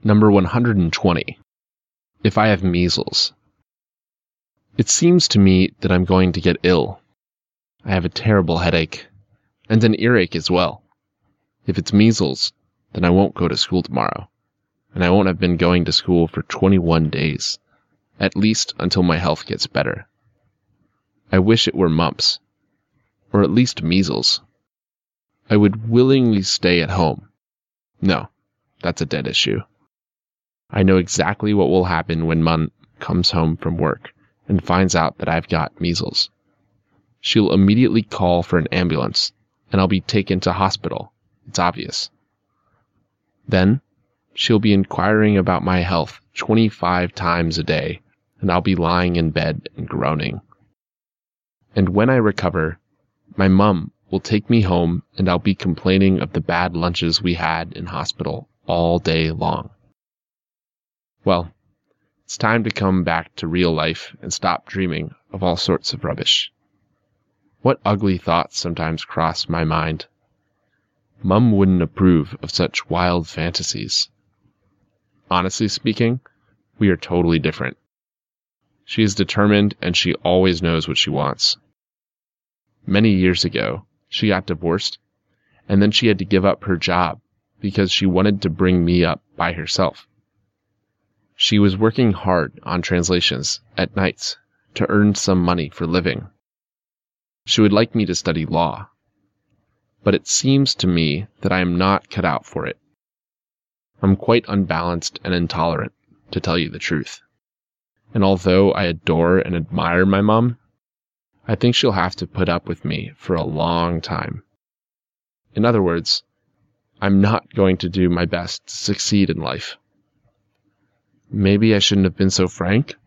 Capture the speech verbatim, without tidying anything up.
Number one hundred twenty. If I have measles. It seems to me that I'm going to get ill. I have a terrible headache, and an earache as well. If it's measles, then I won't go to school tomorrow, and I won't have been going to school for twenty-one days, at least until my health gets better. I wish it were mumps, or at least measles. I would willingly stay at home. No, that's a dead issue. I know exactly what will happen when Mum comes home from work and finds out that I've got measles. She'll immediately call for an ambulance, and I'll be taken to hospital. It's obvious. Then, she'll be inquiring about my health twenty-five times a day, and I'll be lying in bed and groaning. And when I recover, my mum will take me home, and I'll be complaining of the bad lunches we had in hospital all day long. Well, it's time to come back to real life and stop dreaming of all sorts of rubbish. What ugly thoughts sometimes cross my mind. Mum wouldn't approve of such wild fantasies. Honestly speaking, we are totally different. She is determined and she always knows what she wants. Many years ago, she got divorced, and then she had to give up her job because she wanted to bring me up by herself. She was working hard on translations at nights to earn some money for living. She would like me to study law, but it seems to me that I am not cut out for it. I'm quite unbalanced and intolerant, to tell you the truth. And although I adore and admire my mom, I think she'll have to put up with me for a long time. In other words, I'm not going to do my best to succeed in life. Maybe I shouldn't have been so frank?